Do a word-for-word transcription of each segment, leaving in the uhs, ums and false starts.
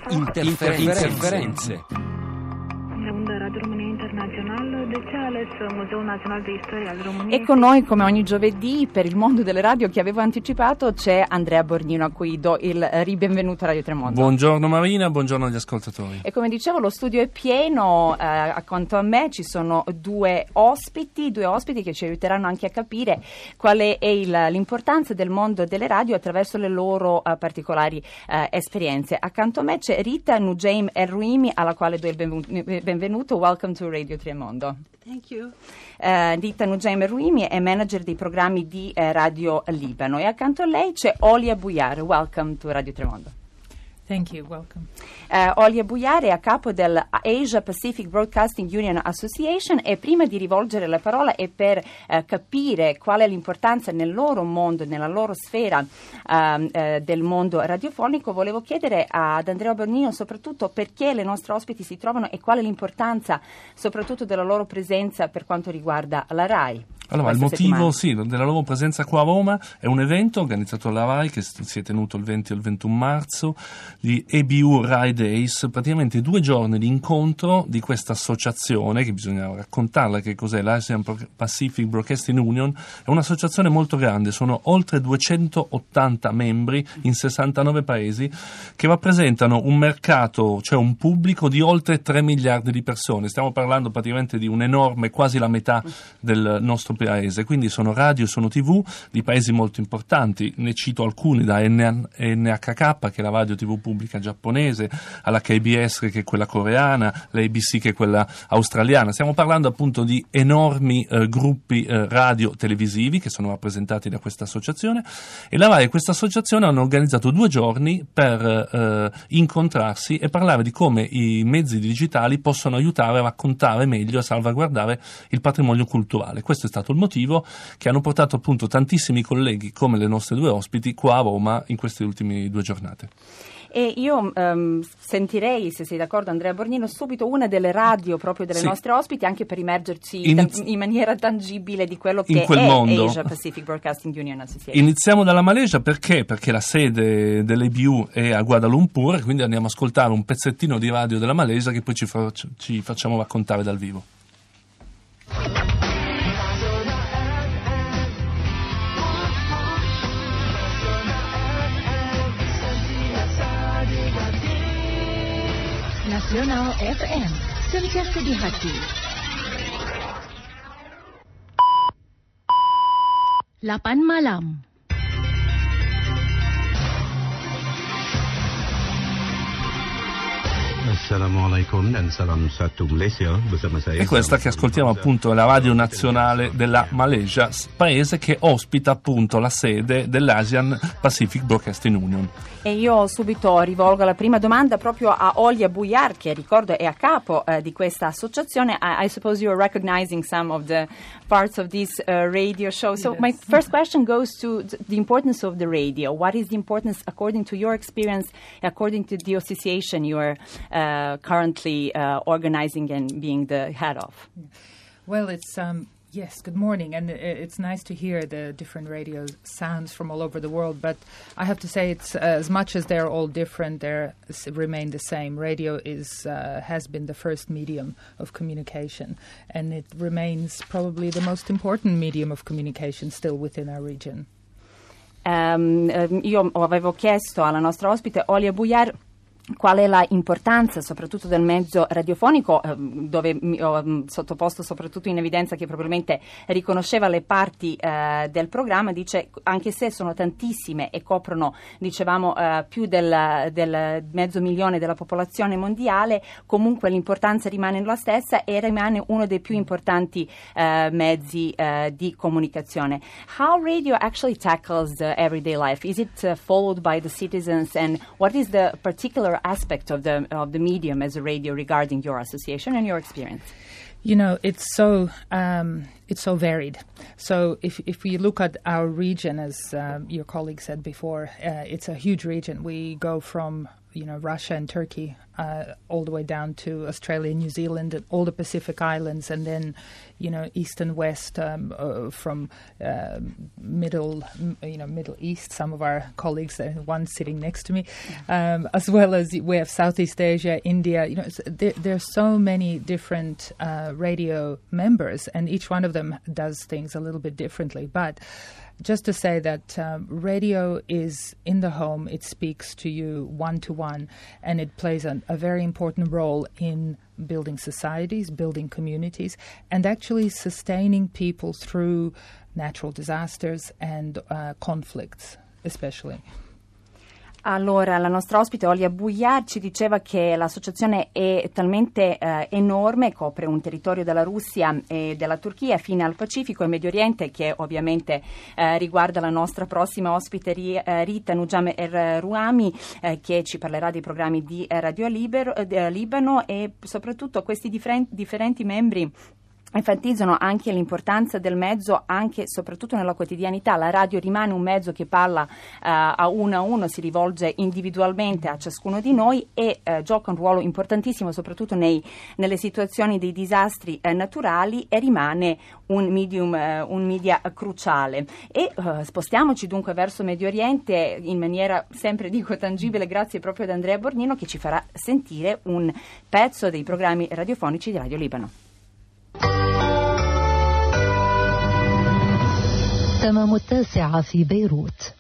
Interferenze. Interferenze. E con noi, come ogni giovedì, per il mondo delle radio che avevo anticipato, c'è Andrea Borgnino, a cui do il ribenvenuto a Radio Tremondo. Buongiorno Marina, buongiorno agli ascoltatori. E come dicevo, lo studio è pieno, eh, accanto a me ci sono due ospiti, due ospiti che ci aiuteranno anche a capire qual è il, l'importanza del mondo delle radio attraverso le loro uh, particolari uh, esperienze. Accanto a me c'è Rita Nujaim El-Ruimi, alla quale do il benvenuto. benvenuto. Welcome to Radio Tremondo. Thank you. Uh, Rita Nujaim El-Ruimi è manager dei programmi di uh, Radio Libano e accanto a lei c'è Olia Buyar. Welcome to Radio Tremondo. Thank you, welcome. Uh, Olia Buyar è a capo del Asia Pacific Broadcasting Union Association e prima di rivolgere la parola e per uh, capire qual è l'importanza nel loro mondo, nella loro sfera uh, uh, del mondo radiofonico, volevo chiedere ad Andrea Borgnino soprattutto perché le nostre ospiti si trovano e qual è l'importanza soprattutto della loro presenza per quanto riguarda la RAI. Allora, il motivo sì, della loro presenza qua a Roma è un evento organizzato dalla RAI che si è tenuto il venti e il ventuno marzo, gli E B U RAI Days, praticamente due giorni di incontro di questa associazione, che bisogna raccontarla che cos'è, l'Asian Pacific Broadcasting Union, è un'associazione molto grande, sono oltre duecentottanta membri in sessantanove paesi che rappresentano un mercato, cioè un pubblico di oltre tre miliardi di persone, stiamo parlando praticamente di un enorme, quasi la metà del nostro paese, quindi sono radio, sono tivù di paesi molto importanti, ne cito alcuni, da N H K che è la radio tivù pubblica giapponese, alla K B S che è quella coreana, la A B C che è quella australiana, stiamo parlando appunto di enormi eh, gruppi eh, radio televisivi che sono rappresentati da questa associazione e la RAI e questa associazione hanno organizzato due giorni per eh, incontrarsi e parlare di come i mezzi digitali possono aiutare a raccontare meglio, a salvaguardare il patrimonio culturale. Questo è stato il motivo che hanno portato appunto tantissimi colleghi come le nostre due ospiti qua a Roma in queste ultime due giornate. E io um, sentirei, se sei d'accordo Andrea Borgnino, subito una delle radio proprio delle sì. nostre ospiti, anche per immergerci Iniz- in maniera tangibile di quello che è mondo. Asia Pacific Broadcasting Union Association. Iniziamo dalla Malesia perché? Perché la sede dell'A B U è a Kuala Lumpur, quindi andiamo a ascoltare un pezzettino di radio della Malesia che poi ci, fa- ci facciamo raccontare dal vivo. Nasional F M, sentiasa di hati. delapan malam. Assalamualaikum dan salam satu Malaysia bersama saya. E questa che ascoltiamo appunto è la radio nazionale della Malesia, paese che ospita appunto la sede dell'Asian Pacific Broadcasting Union. E io subito rivolgo la prima domanda proprio a Olia Buyar, che ricordo è a capo uh, di questa associazione. I, I suppose you're recognizing some of the parts of this uh, radio show. So yes. My first question goes to the importance of the radio. What is the importance according to your experience, according to the association you are uh, currently uh, organizing and being the head of? Well, it's... Um Yes, good morning, and it's nice to hear the different radio sounds from all over the world, but I have to say it's uh, as much as they're all different, they remain the same. Radio is uh, has been the first medium of communication, and it remains probably the most important medium of communication still within our region. Um, io avevo chiesto alla nostra ospite Olia Buyar qual è la importanza soprattutto del mezzo radiofonico, eh, dove mi ho mh, sottoposto soprattutto in evidenza che probabilmente riconosceva le parti eh, del programma. Dice anche se sono tantissime e coprono, dicevamo, eh, più del, del mezzo milione della popolazione mondiale, comunque l'importanza rimane la stessa e rimane uno dei più importanti eh, mezzi eh, di comunicazione. How radio actually tackles the everyday life? Is it uh, followed by the citizens, and what is the particular aspect of the of the medium as a radio regarding your association and your experience? You know, it's so um, it's so varied. So if if we look at our region, as um, your colleague said before, uh, it's a huge region. We go from you know Russia and Turkey uh, all the way down to Australia, New Zealand, and all the Pacific Islands, and then you know east and west um, uh, from uh, middle you know Middle East. Some of our colleagues, uh, one sitting next to me, um, as well as we have Southeast Asia, India. You know, it's, there, there are so many different uh, radio members, and each one of them does things a little bit differently, but. Just to say that um, radio is in the home, it speaks to you one-to-one, and it plays an, a very important role in building societies, building communities, and actually sustaining people through natural disasters and uh, conflicts, especially. Allora, la nostra ospite Olia Bujar ci diceva che l'associazione è talmente eh, enorme, copre un territorio della Russia e della Turchia fino al Pacifico e Medio Oriente, che ovviamente eh, riguarda la nostra prossima ospite Rita Nujam Er-Ruhami, eh, che ci parlerà dei programmi di Radio Libero, eh, Libano, e soprattutto questi differen- differenti membri enfatizzano anche l'importanza del mezzo anche e soprattutto nella quotidianità. La radio rimane un mezzo che parla uh, a uno a uno, si rivolge individualmente a ciascuno di noi e uh, gioca un ruolo importantissimo soprattutto nei, nelle situazioni dei disastri uh, naturali e rimane un medium, uh, un media cruciale. E uh, spostiamoci dunque verso Medio Oriente in maniera sempre dico tangibile, grazie proprio ad Andrea Borgnino, che ci farà sentire un pezzo dei programmi radiofonici di Radio Libano. تمام التاسعة في بيروت.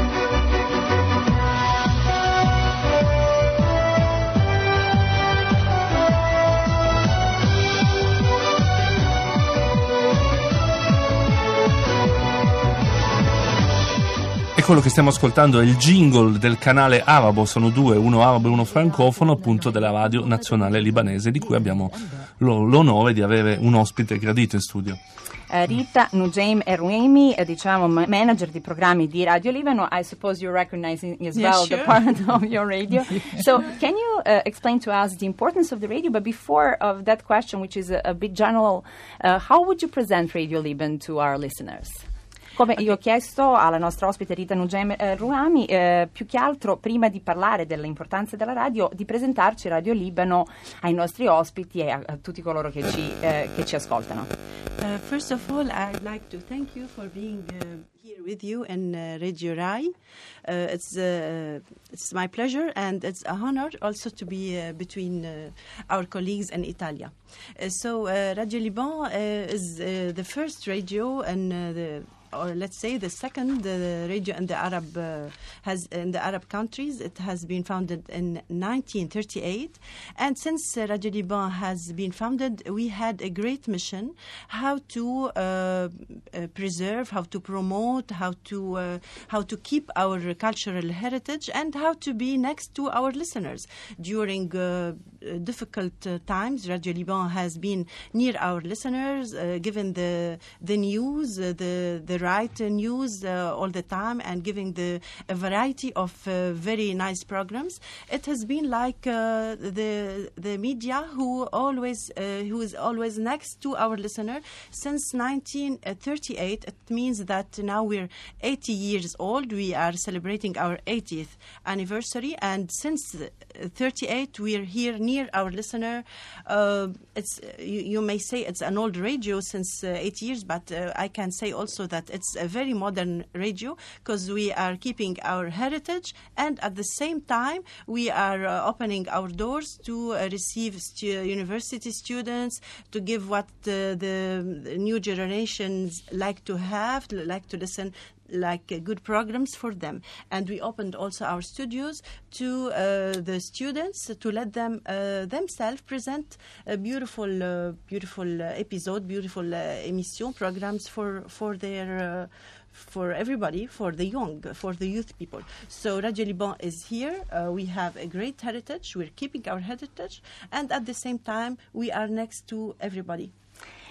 E quello che stiamo ascoltando è il jingle del canale arabo, sono due, uno arabo e uno francofono, appunto della radio nazionale libanese, di cui abbiamo l'onore di avere un ospite gradito in studio. Rita Nujam Er-Ruhami, diciamo manager di programmi di Radio Libano. I suppose you're recognizing as yeah, well sure. the part of your radio. So can you uh, explain to us the importance of the radio? But before of that question, which is a, a bit general, uh, how would you present Radio Liban to our listeners? Come io ho chiesto alla nostra ospite Rita Nujam Er-Ruhami, eh, più che altro prima di parlare dell'importanza della radio, di presentarci Radio Libano ai nostri ospiti e a, a tutti coloro che ci, eh, che ci ascoltano. Uh, first of all, I'd like to thank you for being uh, here with you in uh, Radio Rai. Uh, it's uh, it's my pleasure and it's a honor also to be uh, between uh, our colleagues in Italia. Uh, so uh, Radio Liban uh, is uh, the first radio and uh, the or let's say the second uh, radio in the Arab uh, has in the Arab countries. It has been founded in nineteen thirty-eight, and since uh, Radio Liban has been founded, we had a great mission: how to uh, uh, preserve, how to promote, how to uh, how to keep our cultural heritage, and how to be next to our listeners during uh, difficult uh, times. Radio Liban has been near our listeners, uh, given the the news, uh, the the right news uh, all the time, and giving the a variety of uh, very nice programs. It has been like uh, the the media who always uh, who is always next to our listener since nineteen thirty-eight. It means that now we're eighty years old. We are celebrating our eightieth anniversary, and since thirty-eight we're here near our listener. Uh, it's you, you may say it's an old radio since uh, eight years, but uh, I can say also that it's a very modern radio because we are keeping our heritage, and at the same time we are uh, opening our doors to uh, receive stu- university students, to give what uh, the new generations like to have, like to listen, like uh, good programs for them. And we opened also our studios to uh, the students to let them uh, themselves present a beautiful, uh, beautiful uh, episode, beautiful uh, emission programs for for their. Uh, for everybody, for the young, for the youth people. So Radio Liban is here. Uh, we have a great heritage. We're keeping our heritage, and at the same time, we are next to everybody.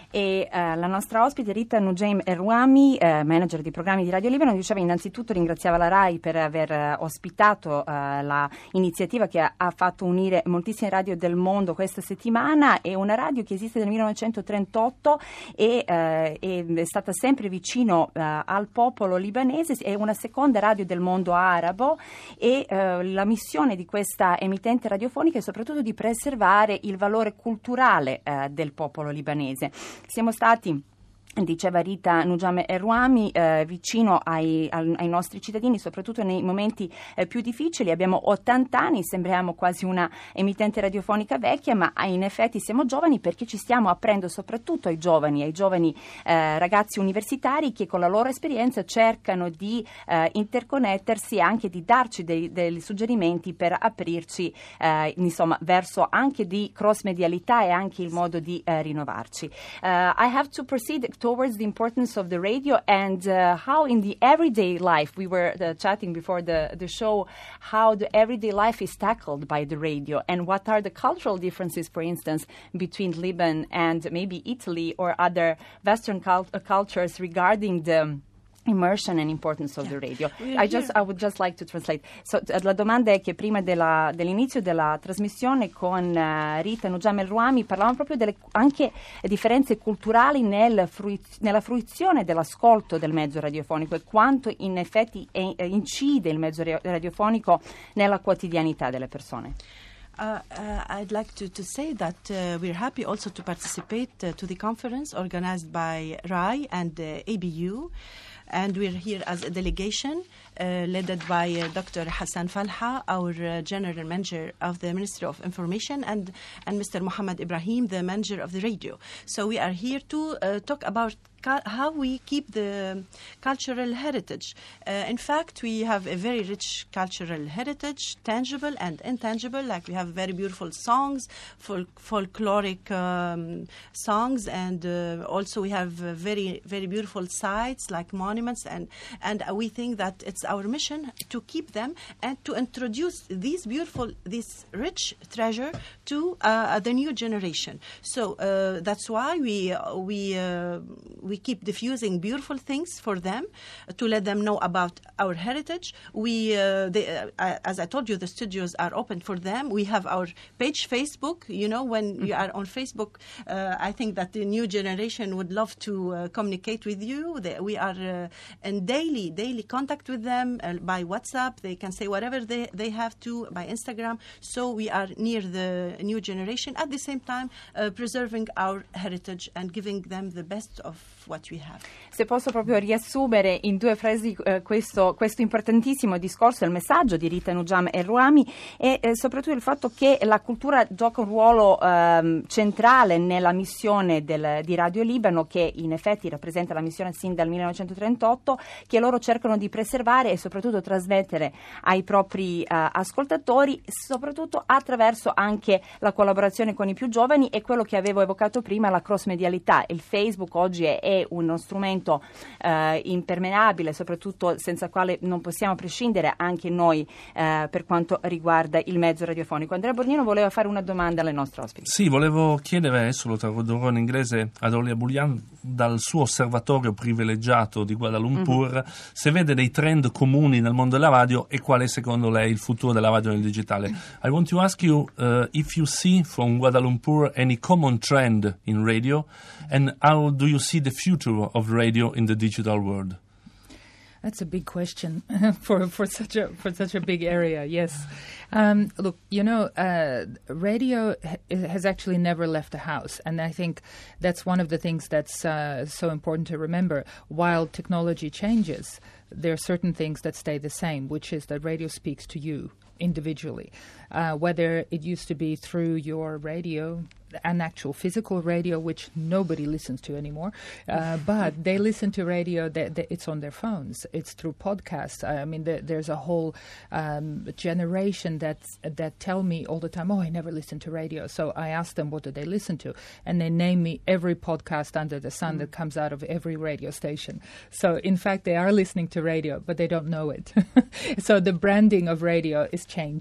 E uh, la nostra ospite Rita Nujaim Erwami, uh, manager di programmi di Radio Libano, diceva innanzitutto ringraziava la RAI per aver uh, ospitato uh, la iniziativa che ha, ha fatto unire moltissime radio del mondo questa settimana. È una radio che esiste dal millenovecentotrentotto e uh, è, è stata sempre vicino uh, al popolo libanese, è una seconda radio del mondo arabo e uh, la missione di questa emittente radiofonica è soprattutto di preservare il valore culturale uh, del popolo libanese. Siamo stati, diceva Rita Nujaim Erwami, eh, vicino ai, ai, ai nostri cittadini, soprattutto nei momenti eh, più difficili. Abbiamo ottanta anni, sembriamo quasi una emittente radiofonica vecchia, ma in effetti siamo giovani perché ci stiamo aprendo soprattutto ai giovani, ai giovani eh, ragazzi universitari che con la loro esperienza cercano di eh, interconnettersi e anche di darci dei, dei suggerimenti per aprirci eh, insomma verso anche di cross medialità e anche il modo di eh, rinnovarci. Uh, I have to proceed towards the importance of the radio and uh, how in the everyday life, we were uh, chatting before the, the show, how the everyday life is tackled by the radio and what are the cultural differences, for instance, between Lebanon and maybe Italy or other Western cult- uh, cultures regarding the immersion and importance of yeah. the radio. I just I would just like to translate. So uh, la domanda è che prima della, dell'inizio della trasmissione con uh, Rita Nujaim Erwami parlavamo proprio delle anche differenze culturali nel fruiz- nella fruizione dell'ascolto del mezzo radiofonico e quanto in effetti è, è, incide il mezzo radiofonico nella quotidianità delle persone. Uh, uh, I'd like to, to say that uh, we're happy also to participate uh, to the conference organized by RAI and uh, A B U. And we're here as a delegation uh, led by uh, Doctor Hassan Falha, our uh, General Manager of the Ministry of Information, and, and Mister Mohammed Ibrahim, the Manager of the Radio. So we are here to uh, talk about cu- how we keep the cultural heritage. Uh, in fact, we have a very rich cultural heritage, tangible and intangible. Like we have very beautiful songs, fol- folkloric um, songs, and uh, also we have uh, very, very beautiful sites like monuments. And, and we think that it's our mission to keep them and to introduce these beautiful, this rich treasure to uh, the new generation. So uh, that's why we uh, we uh, we keep diffusing beautiful things for them to let them know about our heritage. We, uh, they, uh, as I told you, the studios are open for them. We have our page Facebook. You know, when mm-hmm. you are on Facebook, uh, I think that the new generation would love to uh, communicate with you. They, we are uh, in daily daily contact with them uh, by WhatsApp. They can say whatever they, they have to by Instagram. So we are near the new generation at the same time uh, preserving our heritage and giving them the best of what we have. Se posso proprio riassumere in due frasi eh, questo, questo importantissimo discorso, il messaggio di Rita Nujaim Erwami e eh, soprattutto il fatto che la cultura gioca un ruolo eh, centrale nella missione del, di Radio Libano, che in effetti rappresenta la missione sin dal millenovecentotrentotto, che loro cercano di preservare e soprattutto trasmettere ai propri eh, ascoltatori, soprattutto attraverso anche la collaborazione con i più giovani e quello che avevo evocato prima, la cross medialità. Il Facebook oggi è, è uno strumento eh, impermeabile, soprattutto senza il quale non possiamo prescindere anche noi eh, per quanto riguarda il mezzo radiofonico. Andrea Borgnino voleva fare una domanda alle nostre ospiti. Sì, volevo chiedere, adesso lo tradurrò in inglese, ad Olia Boulian, dal suo osservatorio privilegiato di Kuala Lumpur, mm-hmm. se vede dei trend comuni nel mondo della radio e qual è secondo lei il futuro della radio nel digitale. I want to ask you uh, if you see from Kuala Lumpur any common trend in radio and how do you see the future of radio in the digital world? That's a big question for for such a for such a big area. Yes, um, look, you know, uh, radio ha- has actually never left the house, and I think that's one of the things that's uh, so important to remember. While technology changes, there are certain things that stay the same, which is that radio speaks to you individually, uh, whether it used to be through your radio, an actual physical radio, which nobody listens to anymore, uh, but they listen to radio, that, that it's on their phones, it's through podcasts. I mean, the, there's a whole um, generation that's, that tell me all the time, oh, I never listen to radio. So I ask them, what do they listen to? And they name me every podcast under the sun mm. that comes out of every radio station. So in fact, they are listening to radio, but they don't know it. So the branding of radio is changing.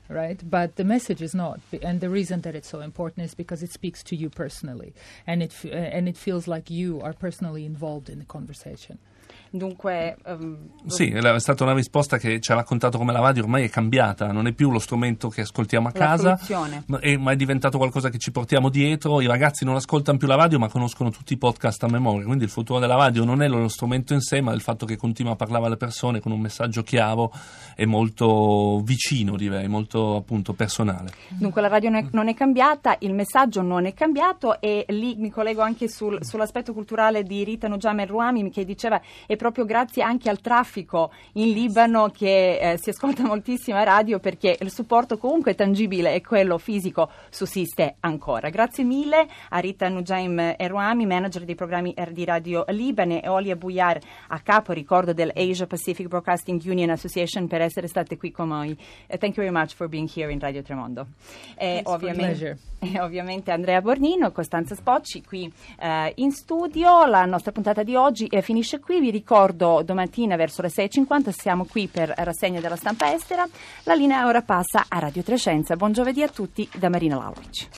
right? But the message is not, and the reason that it's so important is because it speaks to you personally, and it f- and it feels like you are personally involved in the conversation. Dunque, um, sì, è stata una risposta che ci ha raccontato come la radio ormai è cambiata, non è più lo strumento che ascoltiamo a casa, ma è, ma è diventato qualcosa che ci portiamo dietro. I ragazzi non ascoltano più la radio, ma conoscono tutti i podcast a memoria, quindi il futuro della radio non è lo strumento in sé, ma il fatto che continua a parlare alle persone con un messaggio chiaro e molto vicino, direi, molto appunto personale. Dunque la radio non è, non è cambiata, il messaggio non è cambiato, e lì mi collego anche sul, sull'aspetto culturale di Rita Nujam El-Rouami, che diceva è proprio grazie anche al traffico in Libano che eh, si ascolta moltissima radio, perché il supporto comunque tangibile e quello fisico sussiste ancora. Grazie mille a Rita Nujam El-Rouami, manager dei programmi di Radio Libane, e Olia Buyar, a capo, ricordo, del Asia Pacific Broadcasting Union Association, per essere state qui con noi. Uh, thank you very much for being here in Radio Tremondo. E ovviamente, e ovviamente Andrea Bornino, Costanza Spocci qui uh, in studio. La nostra puntata di oggi eh, finisce qui. Vi ricordo, domattina verso le sei e cinquanta siamo qui per rassegna della stampa estera. La linea ora passa a Radio Trescenza. Buon giovedì a tutti da Marina Lauric.